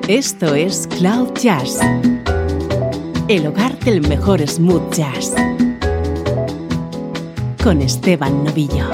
Esto es Cloud Jazz, el hogar del mejor smooth jazz, con Esteban Novillo.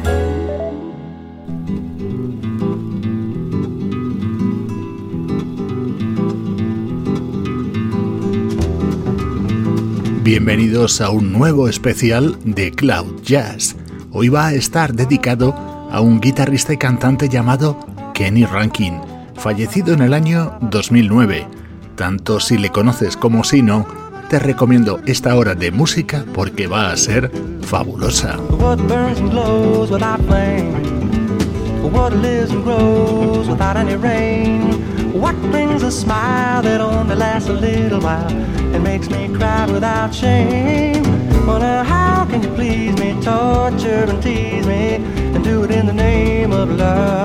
Bienvenidos a un nuevo especial de Cloud Jazz. Hoy va a estar dedicado a un guitarrista y cantante llamado Kenny Rankin, fallecido en el año 2009. Tanto si le conoces como si no, te recomiendo esta hora de música porque va a ser fabulosa. What burns and glows without flame? What lives and grows without any rain? What brings a smile that only lasts a little while and makes me cry without shame? Well, now how can you please me, torture and tease me, and do it in the name of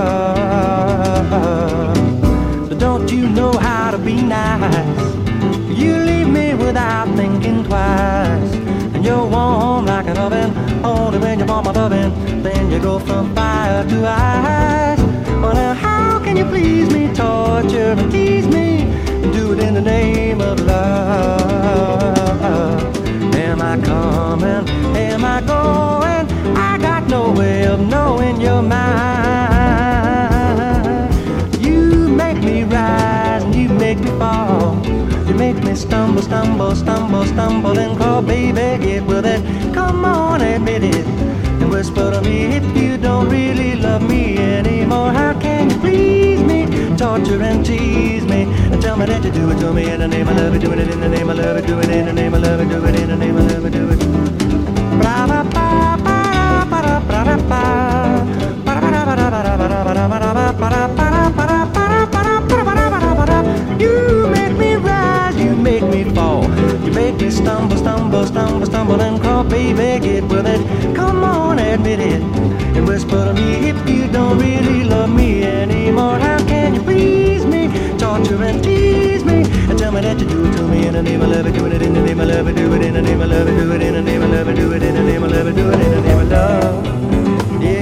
love? But don't you know how to be nice? You leave me without thinking twice, and you're warm like an oven. Only when you want my loving, then you go from fire to ice. Well, now how can you please me, torture and tease me, and do it in the name of love? Am I coming? Am I going? I got no way of knowing your mind. You make me rise and you make me fall. You make me stumble, stumble, stumble, stumble and crawl. Baby, get with it. Come on, admit it. And whisper to me if you don't really love me anymore. How can you please me, torture and tease me, and tell me that you do it to me in the name of love, do it in the name of love, do it in the name of love, do it in the name of love, do it. You make me rise, you make me fall. You make me stumble, stumble, stumble, stumble and crawl. Baby, get with it. Come on, admit it. And whisper to me if you don't really love me anymore. How can you please me, torture and tease me, and tell me that you do it to me in the name of love, do it in the name of love, do it in the name of love, do it in the name of love, do it in the name of love, do it in the name of love. Yeah.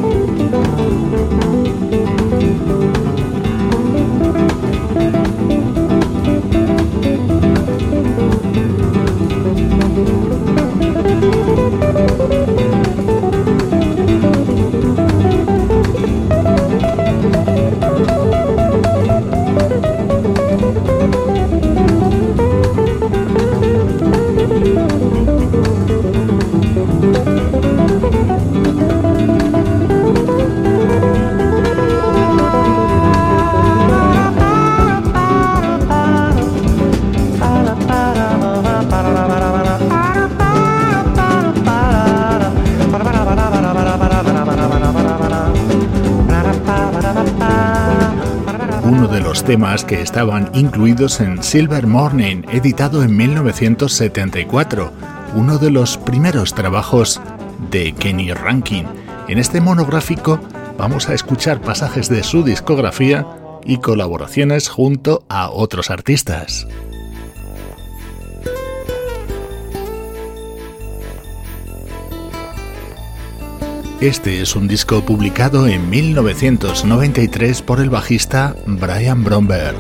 Temas que estaban incluidos en Silver Morning, editado en 1974, uno de los primeros trabajos de Kenny Rankin. En este monográfico vamos a escuchar pasajes de su discografía y colaboraciones junto a otros artistas. Este es un disco publicado en 1993 por el bajista Brian Bromberg.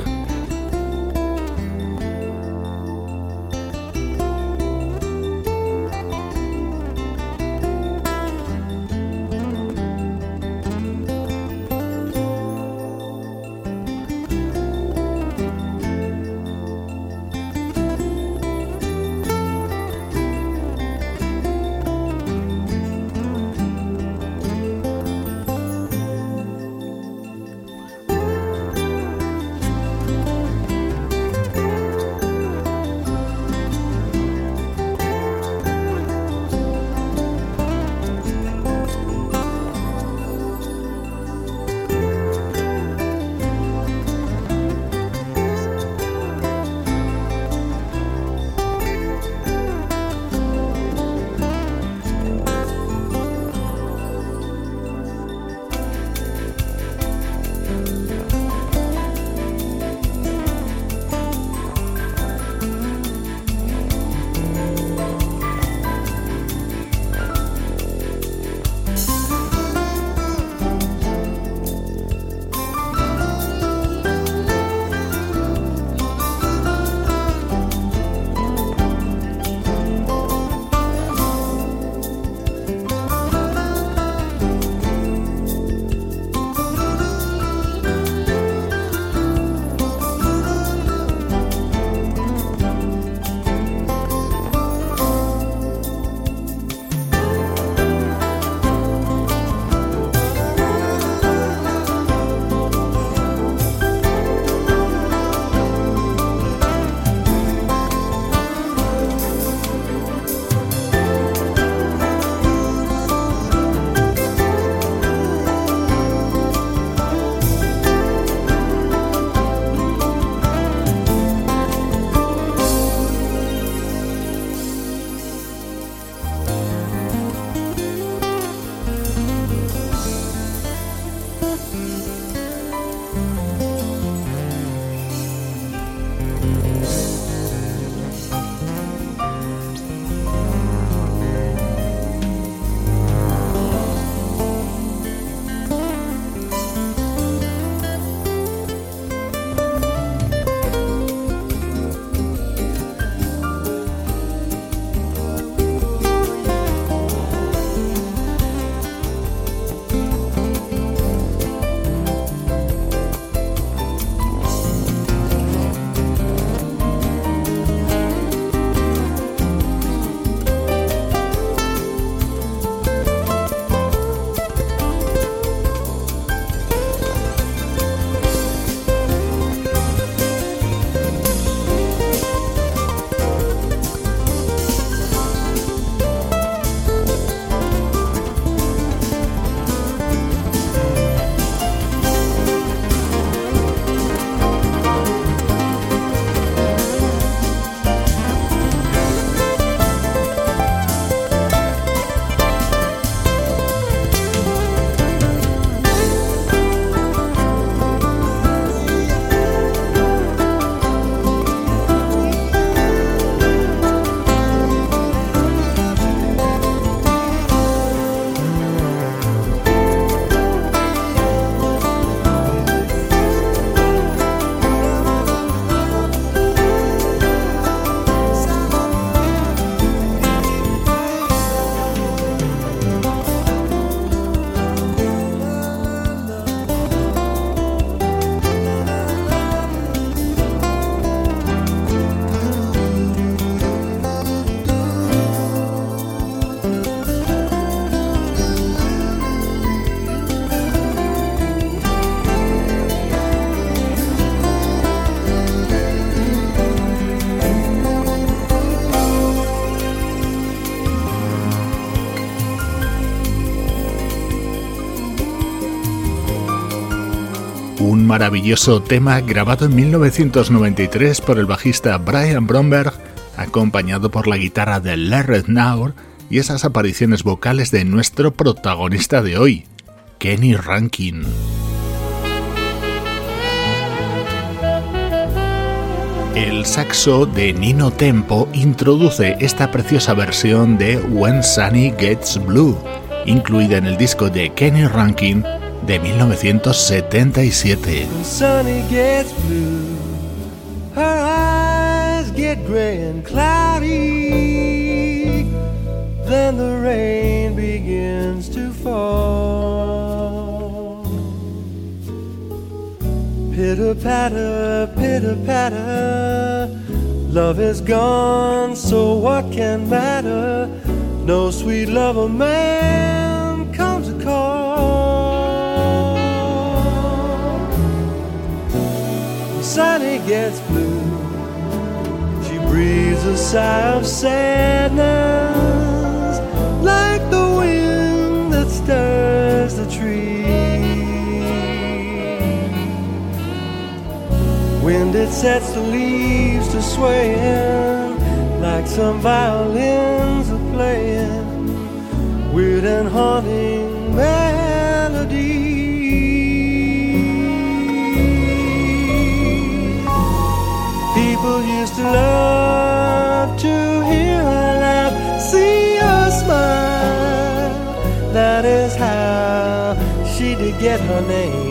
Un maravilloso tema grabado en 1993 por el bajista Brian Bromberg, acompañado por la guitarra de Larry Naur y esas apariciones vocales de nuestro protagonista de hoy, Kenny Rankin. El saxo de Nino Tempo introduce esta preciosa versión de When Sunny Gets Blue, incluida en el disco de Kenny Rankin de 1977. When Sunny gets blue, her eyes get gray and cloudy, then the rain begins to fall. Pitter-patter, pitter-patter, love is gone, so what can matter? No sweet lover man comes to call. When Sunny gets blue, she breathes a sigh of sadness, like the wind that stirs the trees. Wind it sets the leaves to swaying, like some violins are playing weird and haunting melody. People used to love to hear her laugh, see her smile. That is how she did get her name.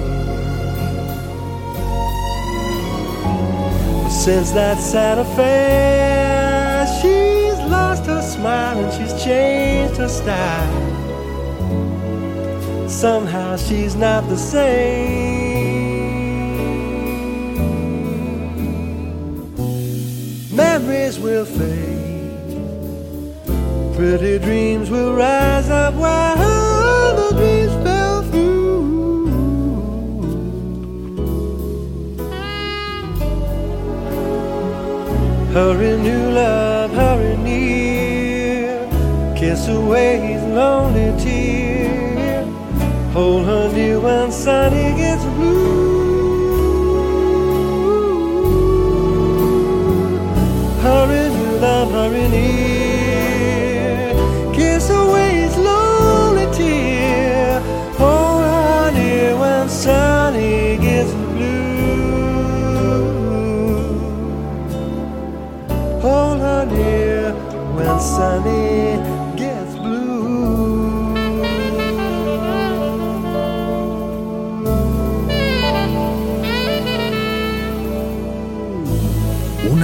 Since that sad affair, she's lost her smile and she's changed her style. Somehow she's not the same. Memories will fade, pretty dreams will rise up while other dreams fell through. Hurry, new love, hurry near, kiss away his lonely tear, hold her near when Sunny gets blue. Hurry, new love, hurry near, kiss away his lonely tear, hold her near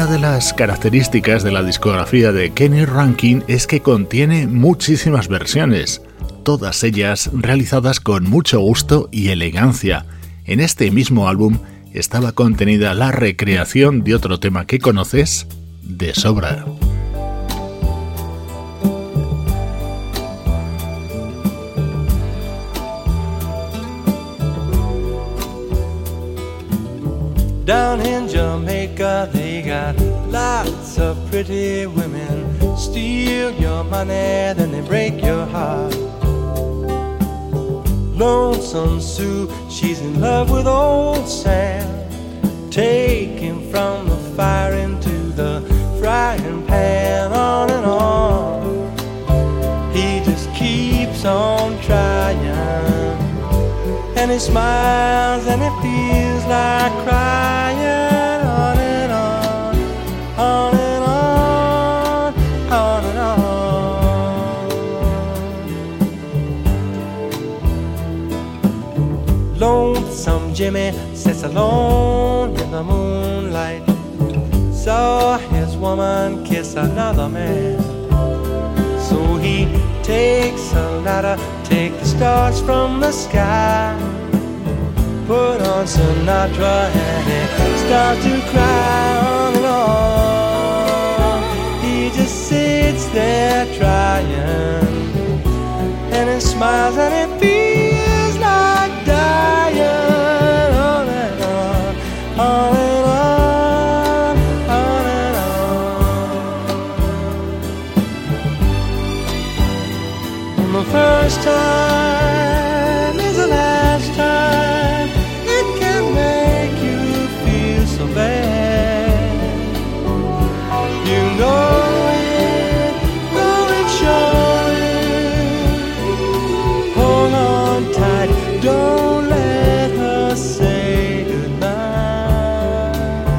Una de las características de la discografía de Kenny Rankin es que contiene muchísimas versiones, todas ellas realizadas con mucho gusto y elegancia. En este mismo álbum estaba contenida la recreación de otro tema que conoces de sobra. Down in Jamaica they got lots of pretty women. Steal your money, then they break your heart. Lonesome Sue, she's in love with old Sam. Take him from the fire into the frying pan, on and on. He just keeps on trying, and he smiles and it feels like crying, on and on, on and on, on and on. Lonesome Jimmy sits alone in the moonlight, saw his woman kiss another man. So he takes a ladder, take the stars from the sky, put on Sinatra and he starts to cry, on and on. He just sits there trying, and he smiles and it feels like dying, on and on, on and on, on and on. And the first time is the last time it can make you feel so bad. You know it, know it, show it. Hold on tight, don't let her say goodnight.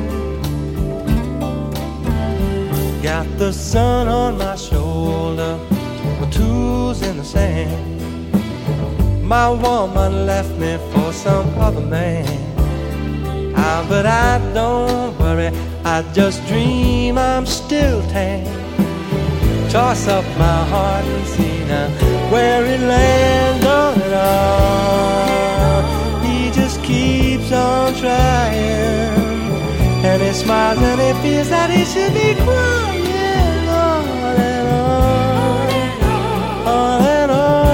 Got the sun on my shoulder, my tools in the sand. My woman left me for some other man. But I don't worry, I just dream I'm still tan. Toss up my heart and see now where it lands, on and on. He just keeps on trying, and he smiles and he feels that he should be crying, on and on, on and on.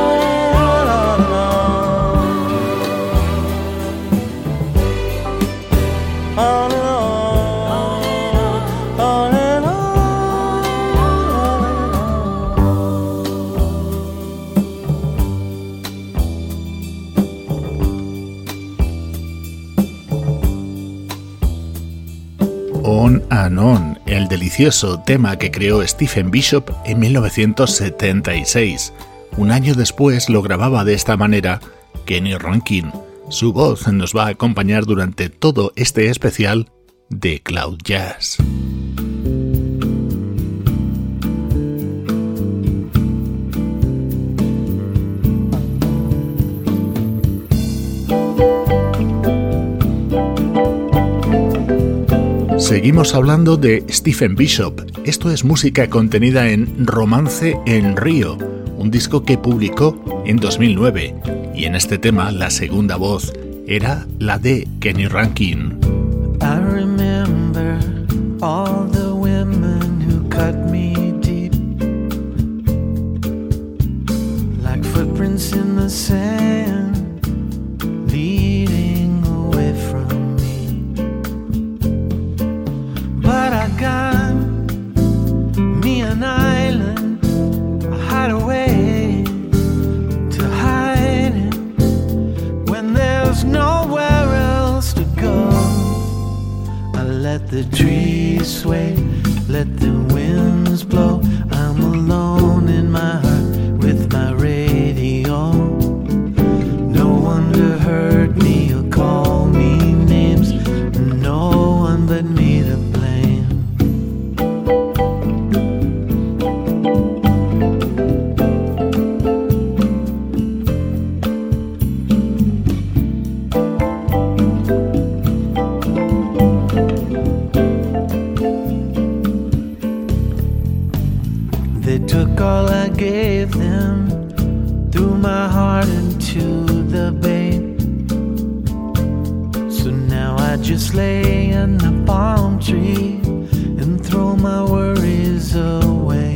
On and On, el delicioso tema que creó Stephen Bishop en 1976. Un año después lo grababa de esta manera Kenny Rankin. Su voz nos va a acompañar durante todo este especial de Cloud Jazz. Seguimos hablando de Stephen Bishop. Esto es música contenida en Romance en Río, un disco que publicó en 2009. Y en este tema la segunda voz era la de Kenny Rankin. I remember all the women who cut me deep, like footprints in the sand, leading away from me. But I got me an island, a hideaway to hide in when there's nowhere else to go. I let the trees sway, let the winds blow. I'm alone in my heart with my radio. No one to hurt me or call me names, no one but me to blame. heart into the bay. So now I just lay in the palm tree and throw my worries away.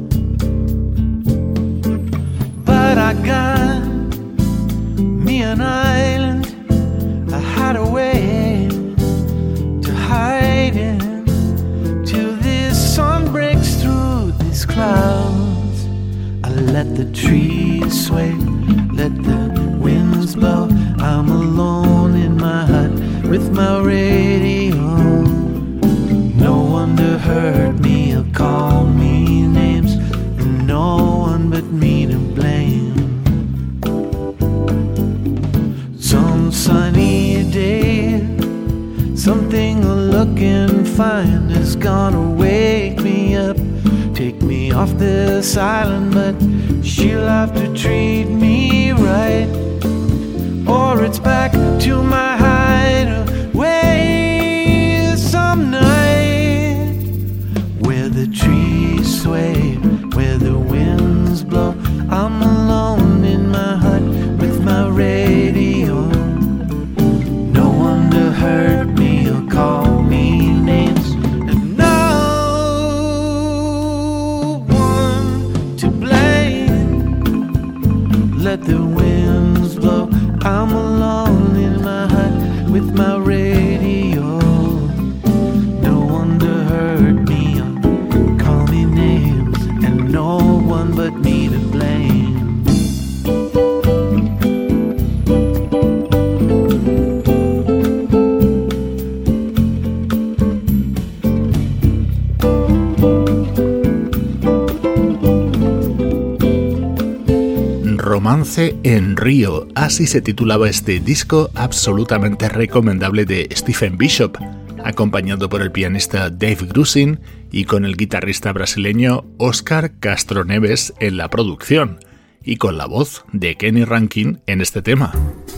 But I got me an island, a hideaway to hide in till this sun breaks through these clouds. I let the trees sway, let the winds blow. I'm alone in my hut with my radio. No one to hurt me or call me names, and no one but me to blame. Some sunny day, something I'll look and find is gonna wake me up, take me off this island, but she'll have to treat me right, or it's back to my hideaway some night, where the trees sway, where the winds blow. I'm alone in my hut with my radio. No one to hurt me or call me names, and no one to blame. Let the winds blow. I'm alone in my hut with my radio. No one to hurt me or call me names, and no one but me to blame. Romance en Río, así se titulaba este disco absolutamente recomendable de Stephen Bishop, acompañado por el pianista Dave Grusin y con el guitarrista brasileño Oscar Castro Neves en la producción, y con la voz de Kenny Rankin en este tema.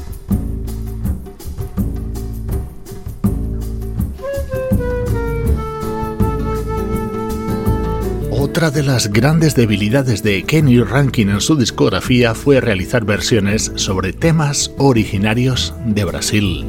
Otra de las grandes debilidades de Kenny Rankin en su discografía fue realizar versiones sobre temas originarios de Brasil.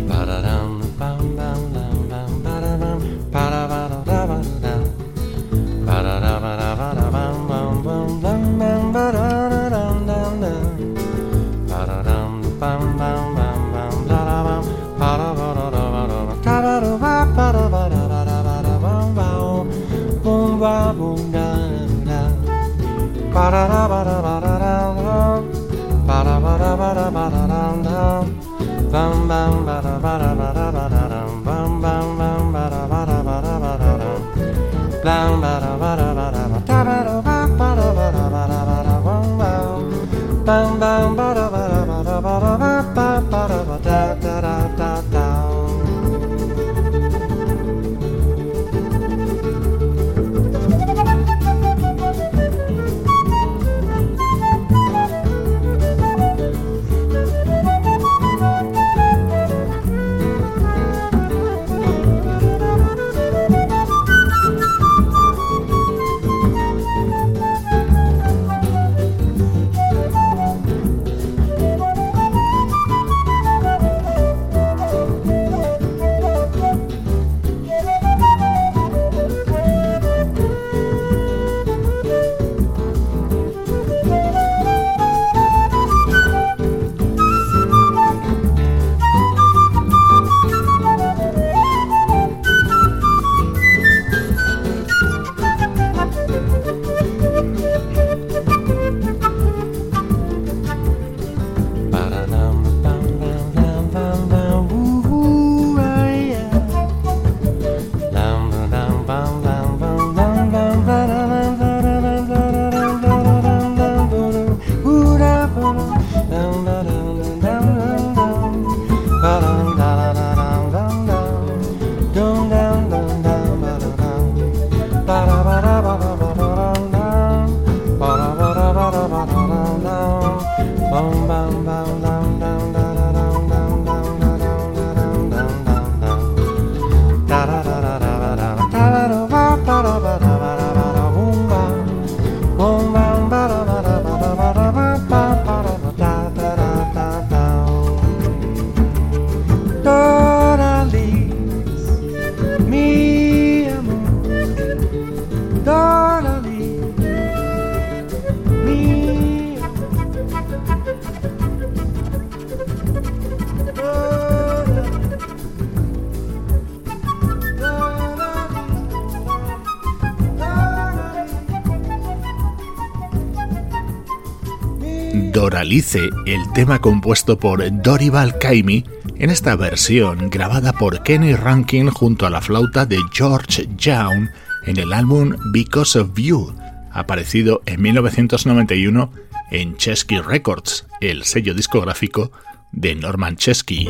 Alice, el tema compuesto por Dorival Caymmi en esta versión grabada por Kenny Rankin junto a la flauta de George Young en el álbum Because of You, aparecido en 1991 en Chesky Records, el sello discográfico de Norman Chesky.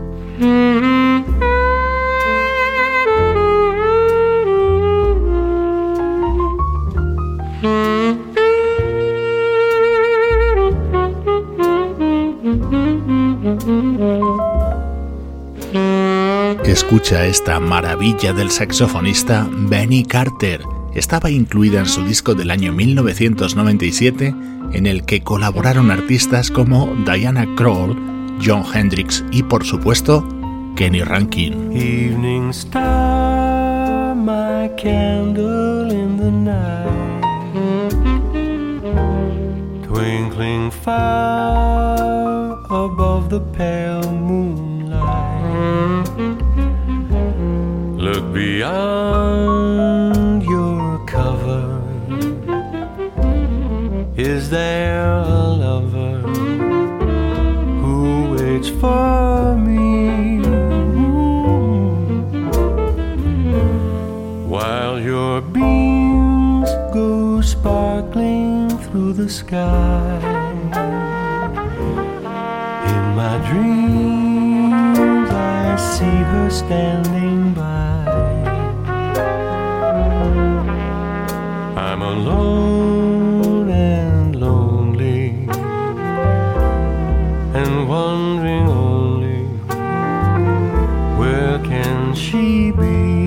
Escucha esta maravilla del saxofonista Benny Carter. Estaba incluida en su disco del año 1997, en el que colaboraron artistas como Diana Krall, Jon Hendricks y, por supuesto, Kenny Rankin. Evening star, my candle in the night, twinkling far above the pale moonlight. Look beyond your cover. Is there a lover who waits for me? While your beams go sparkling through the sky, in my dreams I see her standing by. I'm alone and lonely, and wondering only, where can she be?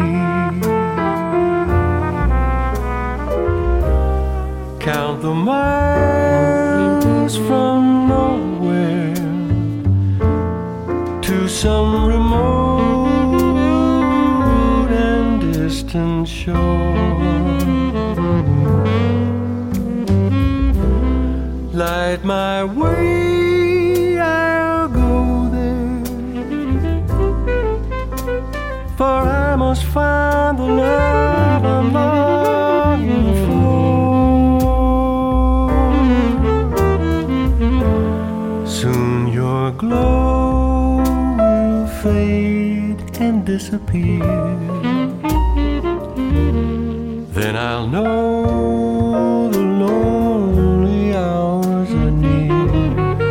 Count the miles from nowhere to some remote and distant shore. Light my way, I'll go there, for I must find the love I'm longing for. Soon your glow will fade and disappear, then I'll know the lonely hours are near.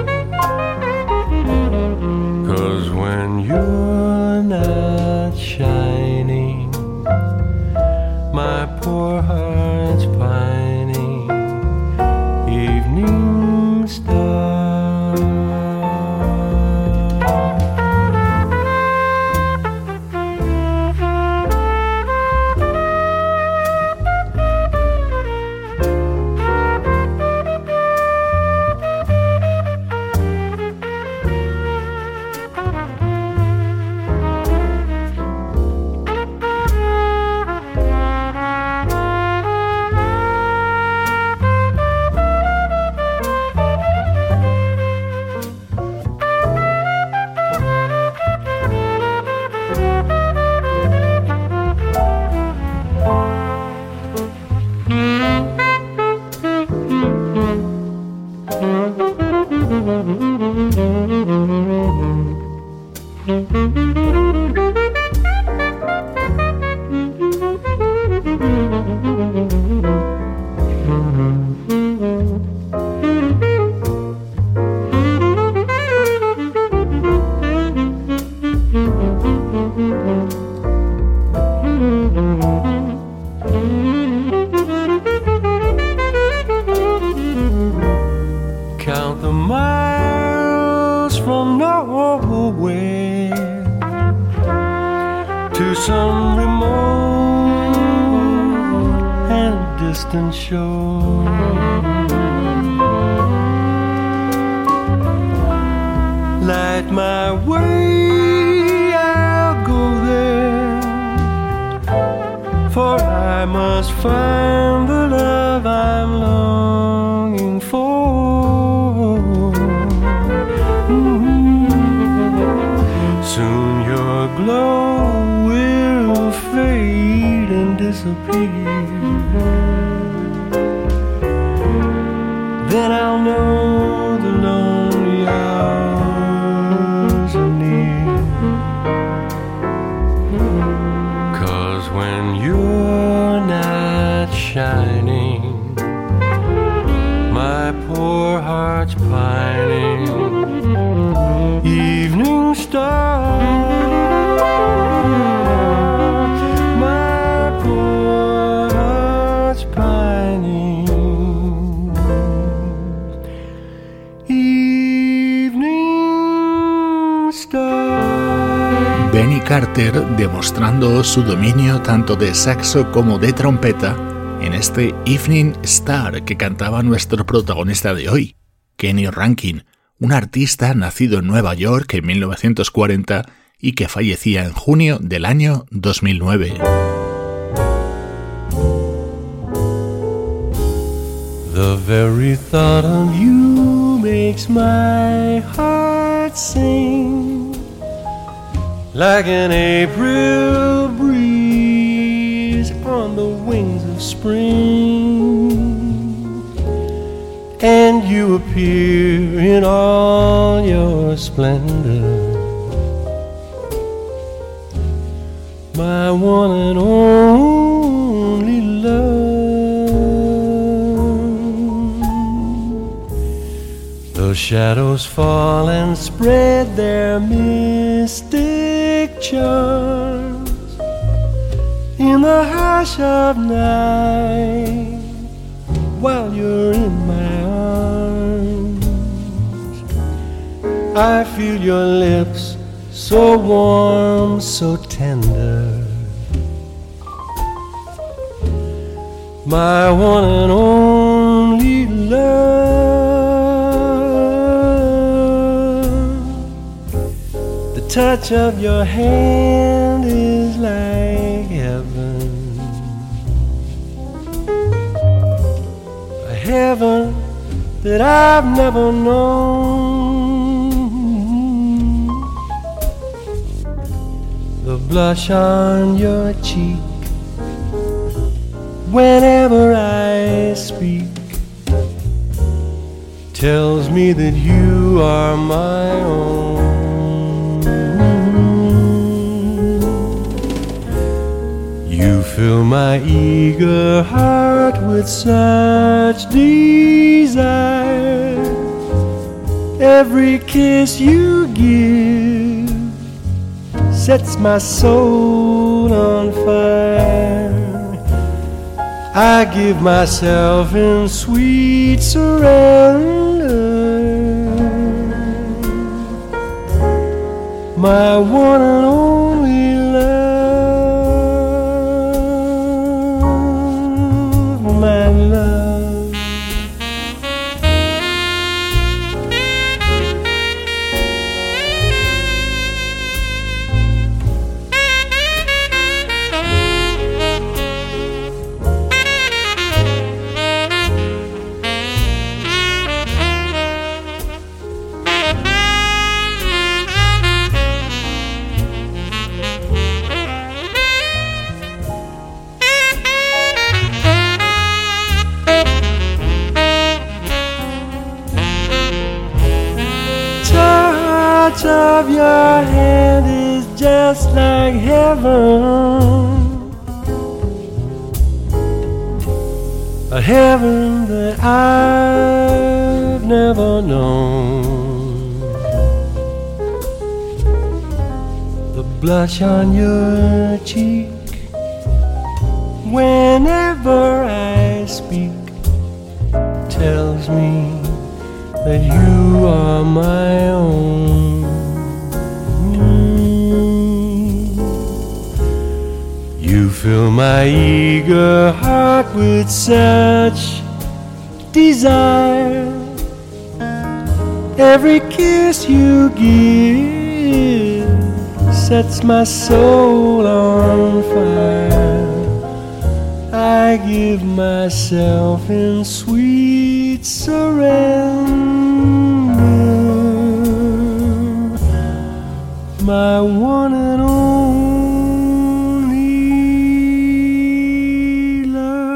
'Cause when you're not shining, my poor heart's pining. Evening star. Count the miles from nowhere to some remote and distant shore. Light my way, I'll go there, for I must find the love I'm longing for. Soon your glow will fade and disappear, then I'll know the love Benny Carter demostrando su dominio tanto de saxo como de trompeta en este Evening Star que cantaba nuestro protagonista de hoy, Kenny Rankin, un artista nacido en Nueva York en 1940 y que fallecía en junio del año 2009. The very thought of you makes my heart sing like an April breeze on the wings of spring, and you appear in all your splendor, my one and only love. The shadows fall and spread their mystic charms in the hush of night while you're in my arms. I feel your lips so warm, so tender, my one and only love. The touch of your hand is like heaven, a heaven that I've never known. The blush on your cheek whenever I speak tells me that you are my own. You fill my eager heart with such desire. Every kiss you give sets my soul on fire. I give myself in sweet surrender, my one and only love, my love. Of your hand is just like heaven, a heaven that I've never known. The blush on your cheek whenever I speak tells me that you are my own. You fill my eager heart with such desire. Every kiss you give sets my soul on fire. I give myself in sweet surrender, my one and only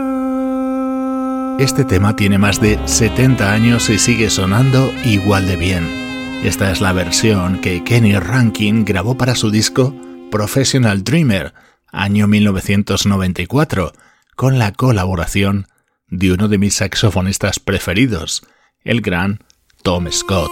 love. Este tema tiene más de 70 años y sigue sonando igual de bien. Esta es la versión que Kenny Rankin grabó para su disco Professional Dreamer, año 1994, con la colaboración de uno de mis saxofonistas preferidos, el gran Tom Scott.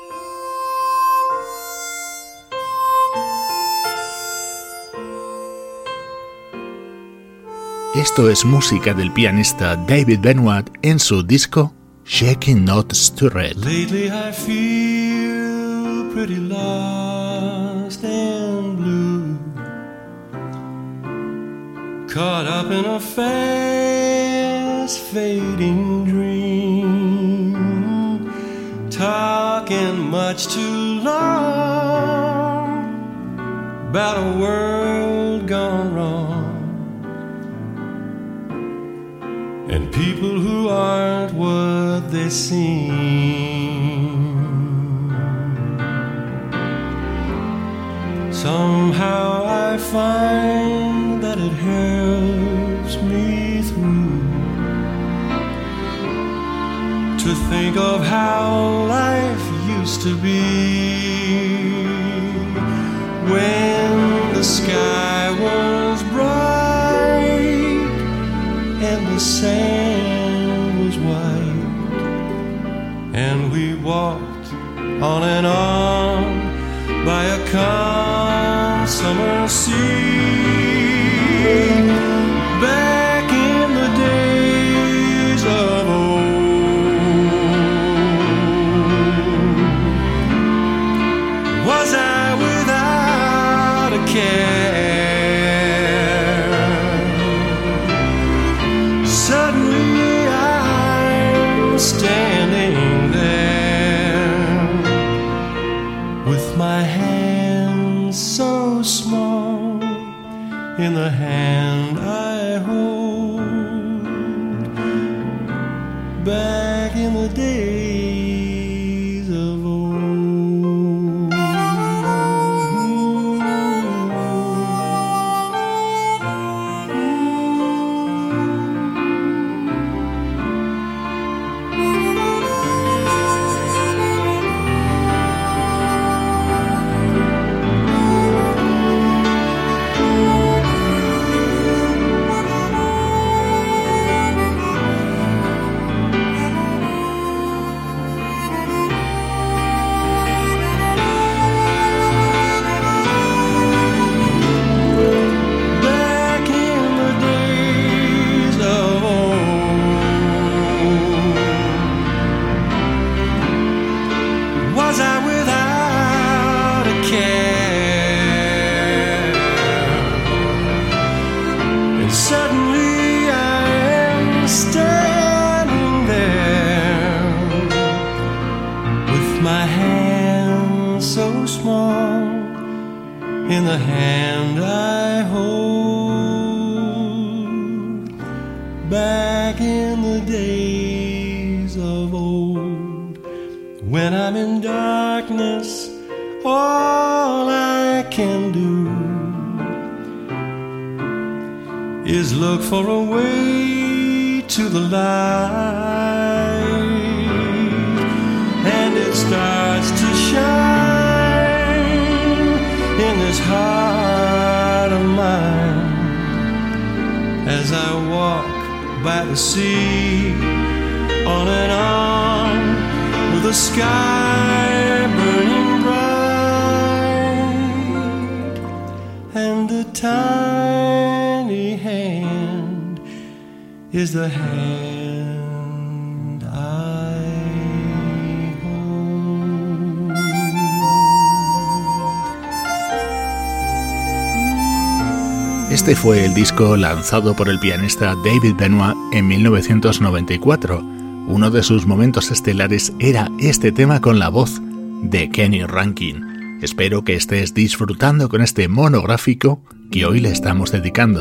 Esto es música del pianista David Benoit en su disco Shaking Not Stirred. Lately I feel pretty lost and blue. caught up in a fast fading dream, talking much too long about a world gone wrong and people who aren't what they seem. Somehow I find that it helps me through to think of how life used to be, when the sky was bright and the sand was white, and we walked on and on by a calm summer sea, back in the days of old. Was I without a care? Suddenly I'm standing there with my hand so small in the hand I hold, back in the days of old. In the hand I hold, back in the days of old, when I'm in darkness, all I can do is look for a way to the light, and it starts to shine in this heart of mine as I walk by the sea, on and on, with the sky burning bright, and a tiny hand is the hand I hold. Este fue el disco lanzado por el pianista David Benoit en 1994. Uno de sus momentos estelares era este tema con la voz de Kenny Rankin. Espero que estés disfrutando con este monográfico que hoy le estamos dedicando.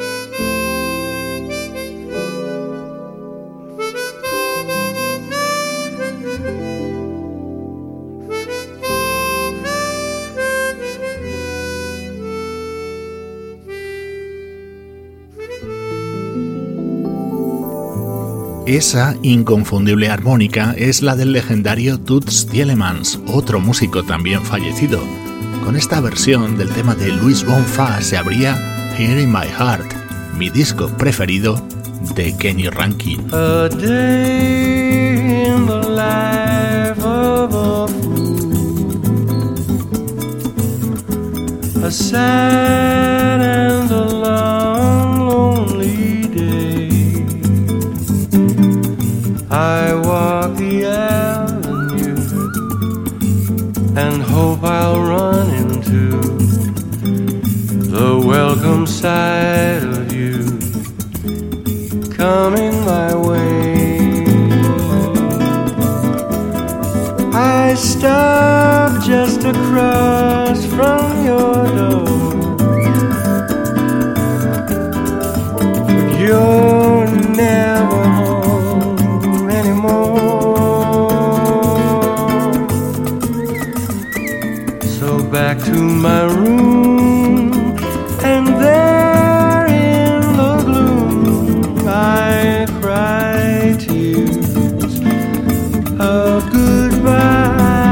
Esa inconfundible armónica es la del legendario Toots Thielemans, otro músico también fallecido. Con esta versión del tema de Louis Bonfa se abría Here in My Heart, mi disco preferido de Kenny Rankin. A day in the life of a fool, a sad and a long, lonely day. I walk the avenue and hope I'll run into the welcome sight of you. coming my way. I stopped just across from your door. You're never home anymore. So back to my room, and there in the gloom I cry tears of goodbye.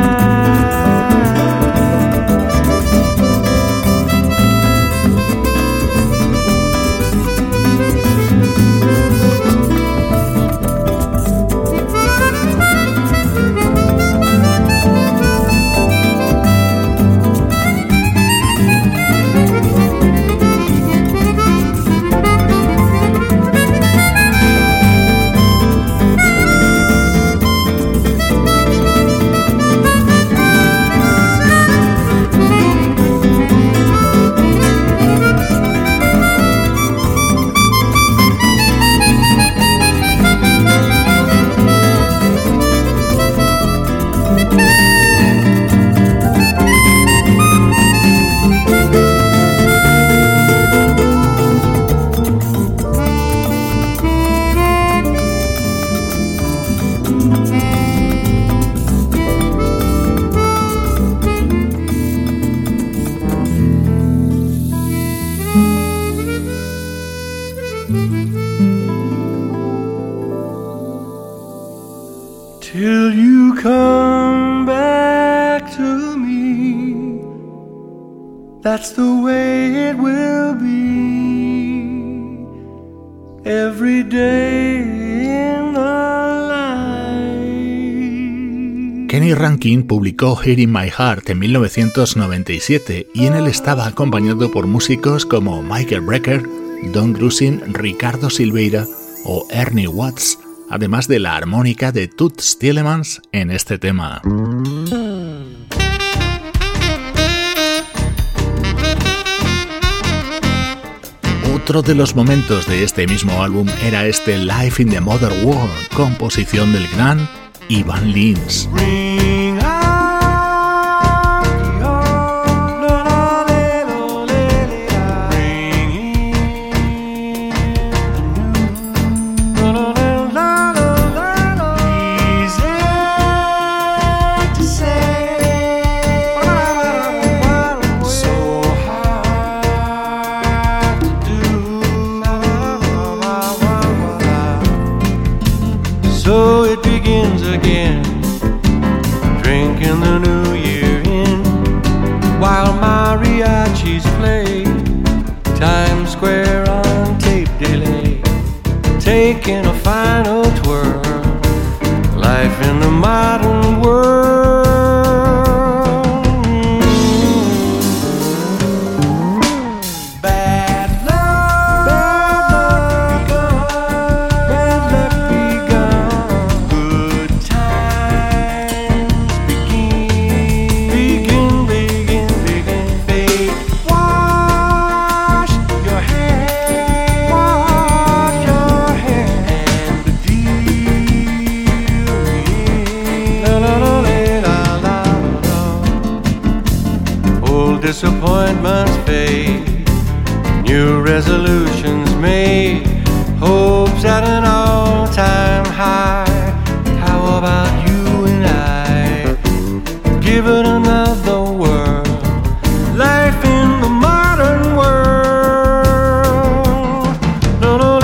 Till you come back to me, that's the way it will be every day in the life. Kenny Rankin publicó Here in My Heart en 1997 y en él estaba acompañado por músicos como Michael Brecker, Don Grusin, Ricardo Silveira o Ernie Watts, además de la armónica de Toots Thielemans en este tema. Otro de los momentos de este mismo álbum era este Life in the Modern World, composición del gran Ivan Lins. So it begins again, drinking the new year in, while mariachis play Times Square on tape delay, taking a final twirl, life in the modern world. Disappointments fade, new resolutions made, hopes at an all-time high. How about you and I? Give it another whirl, life in the modern world. No, no,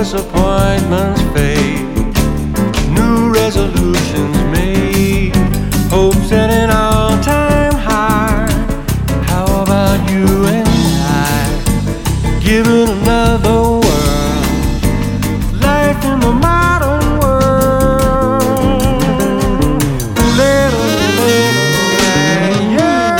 disappointments fade, new resolutions made, hope set an all-time high. How about you and I, giving another world, life in the modern world, little, yeah.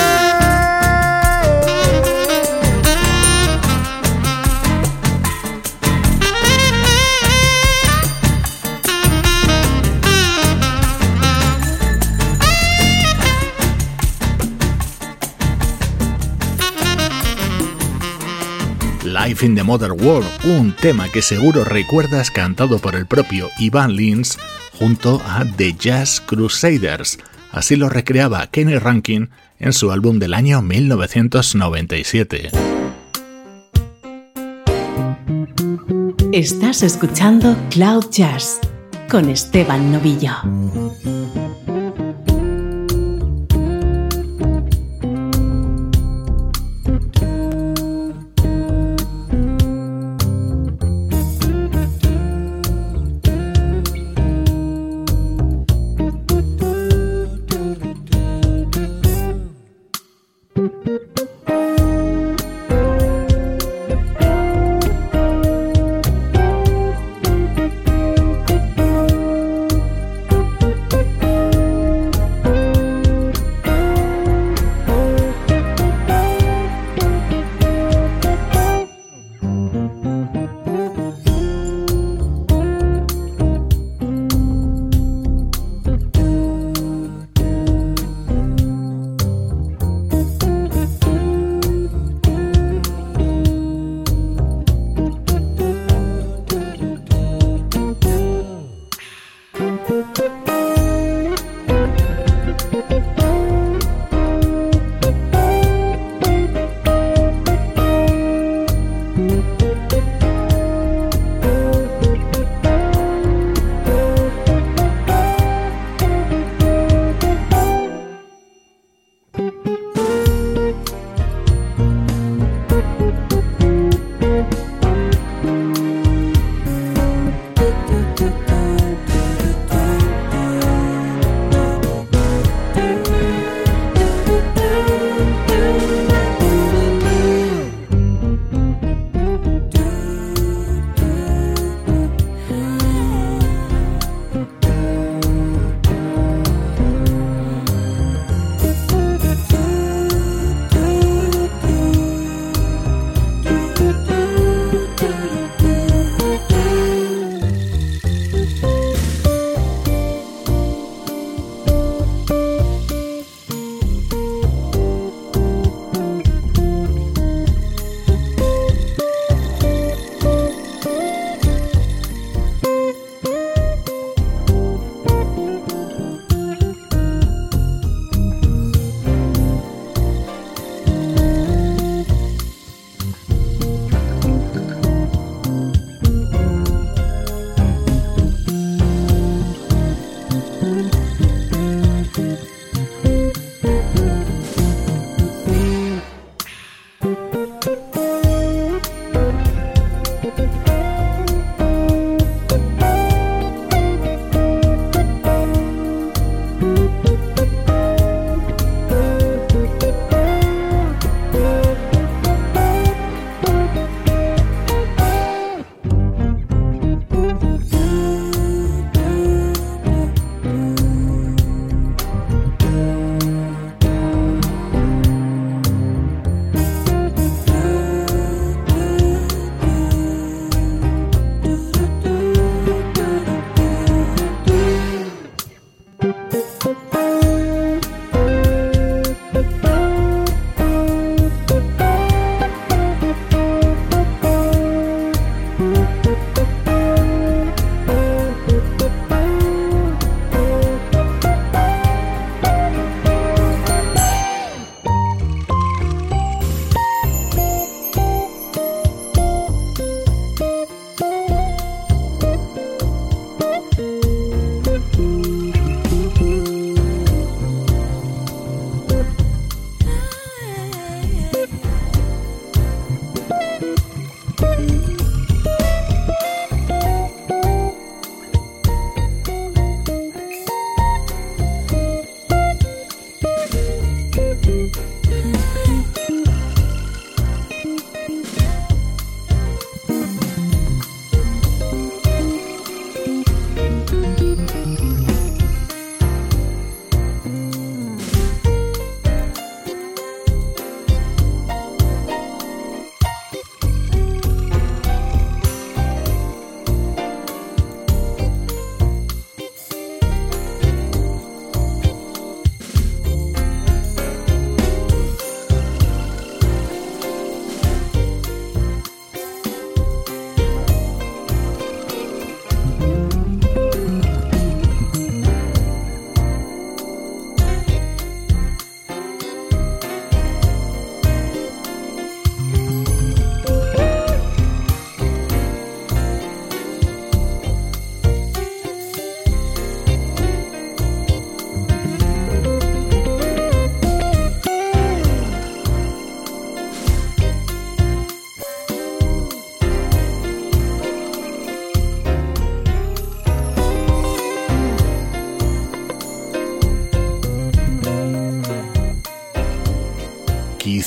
Life in the Modern World, un tema que seguro recuerdas cantado por el propio Ivan Lins junto a The Jazz Crusaders. Así lo recreaba Kenny Rankin en su álbum del año 1997. Estás escuchando Cloud Jazz con Esteban Novillo.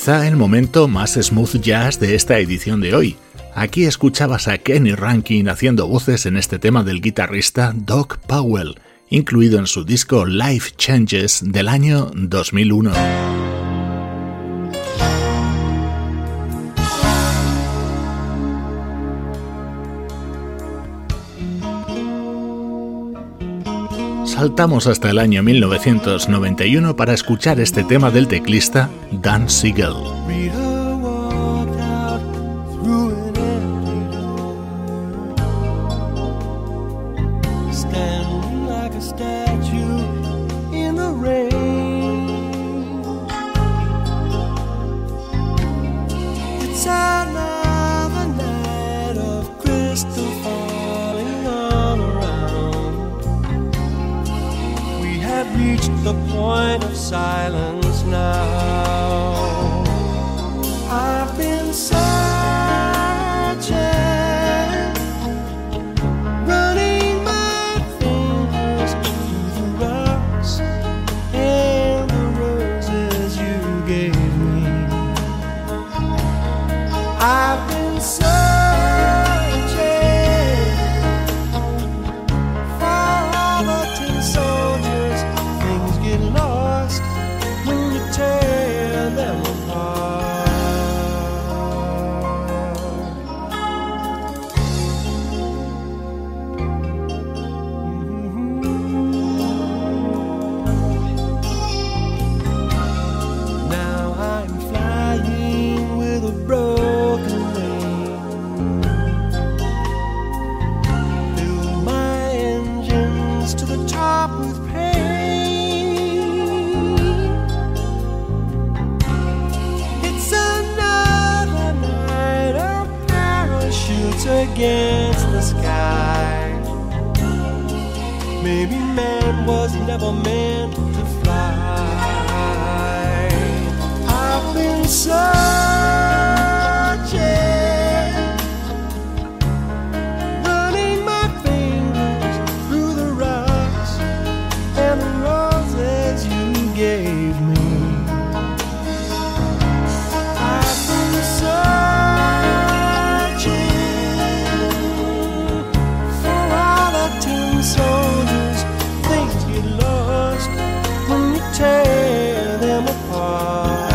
quizá el momento más smooth jazz de esta edición de hoy. Aquí escuchabas a Kenny Rankin haciendo voces en este tema del guitarrista Doc Powell, incluido en su disco Life Changes del año 2001. Saltamos hasta el año 1991 para escuchar este tema del teclista Dan Siegel. The point of silence now. I've been searching, running my fingers through the rocks and the roses you gave me. I've been searching for all the tin soldiers. Get lost when you tear them apart. Now I'm flying with a broken wing. Fill my engines to the top with against the sky. Maybe man was never meant to fly. I've been searching, running my fingers through the rocks and the roses you gave me. I've been soldiers, things get lost when you tear them apart.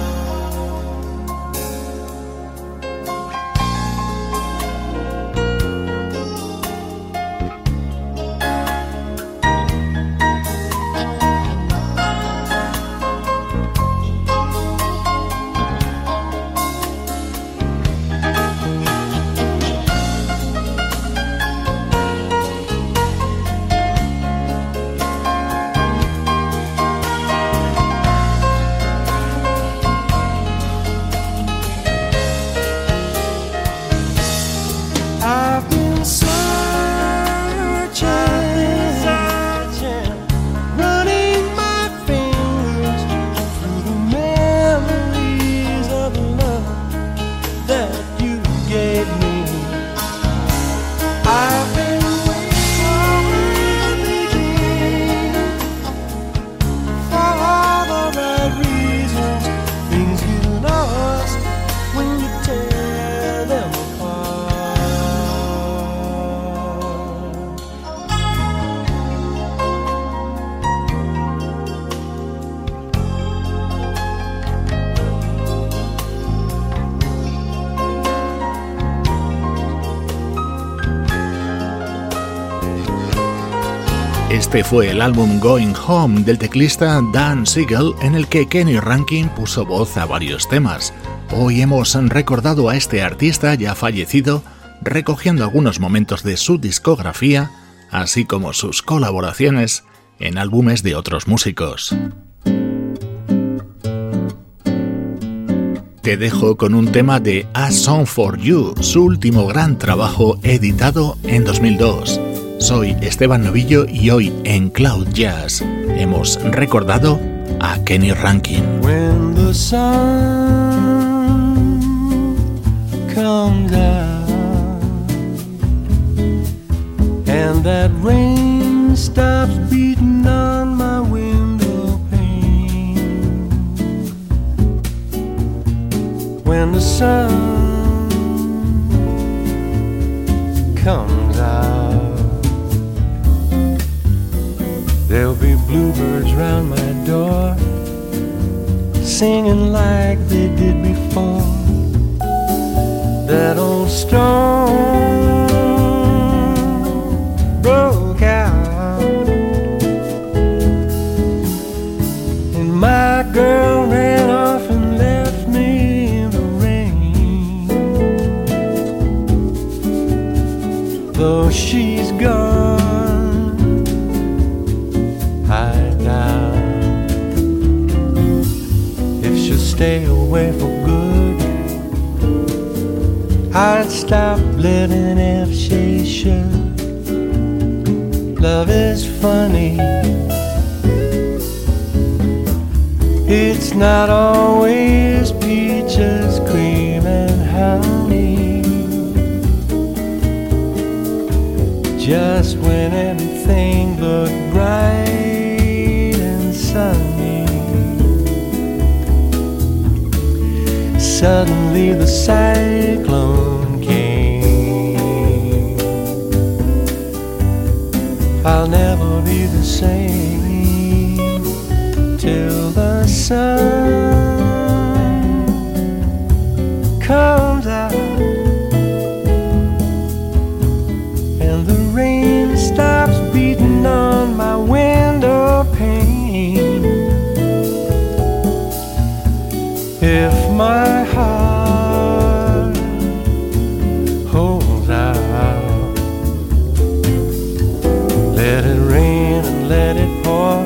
Este fue el álbum Going Home del teclista Dan Siegel, en el que Kenny Rankin puso voz a varios temas. Hoy hemos recordado a este artista ya fallecido, recogiendo algunos momentos de su discografía, así como sus colaboraciones en álbumes de otros músicos. Te dejo con un tema de A Song for You, su último gran trabajo editado en 2002. Soy Esteban Novillo y hoy en Cloud Jazz hemos recordado a Kenny Rankin. When the sun comes out and that rain stops beating on my window pane, when the sun comes out. There'll be bluebirds round my door, singing like they did before. That old storm broke out, and my girl ran off and left me in the rain. Though she's gone, I doubt if she'll stay away for good. I'd stop living if she should. Love is funny, it's not always peaches, cream and honey. Just when everything looked bright and sunny, suddenly the cyclone came. I'll never be the same till the sun comes out and the rain stops beating on my window pane. If my heart holds out, let it rain and let it pour.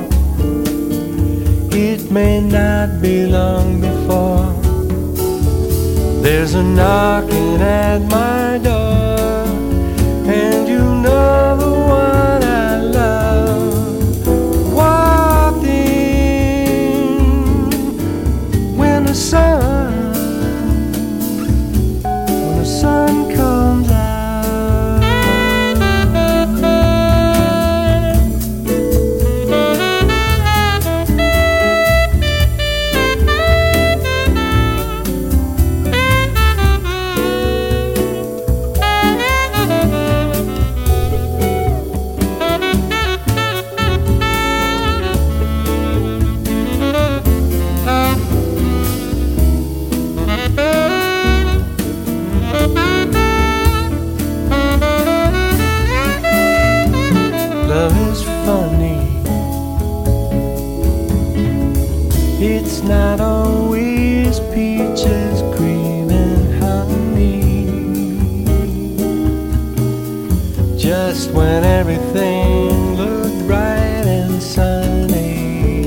It may not be long before there's a knocking at my door, and you know the one I love walked in when the sun comes out. Love is funny, it's not always peaches, cream and honey. Just when everything looked bright and sunny,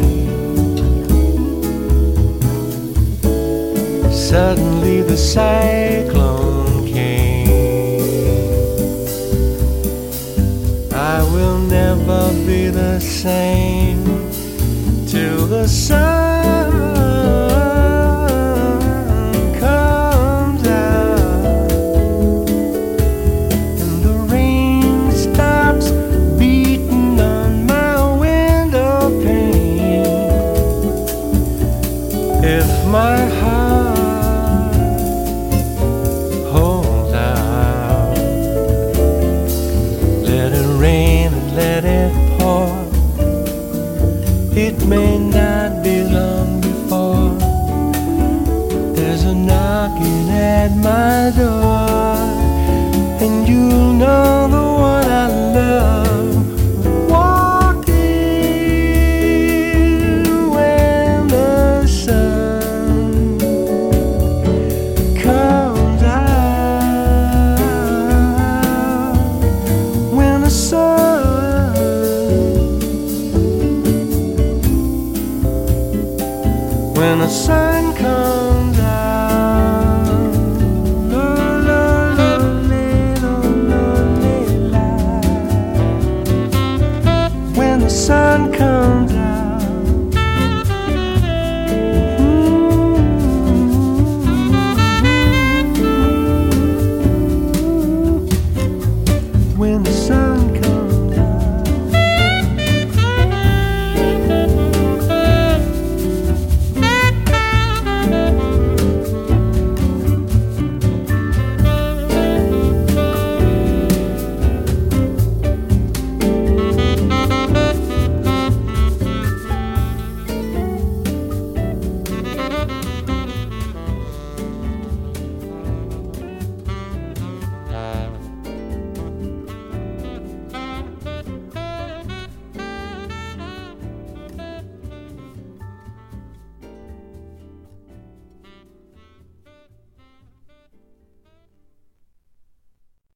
suddenly the cyclone came. I will never be the same till the sun comes out and the rain stops beating on my window pane. If my heart holds out, let it rain and let it pour. It may not be long before there's a knocking at my door, and you'll know the one I love walked in when the sun comes out. When the sun comes out, la, la, la, la, la, la, la. When the sun comes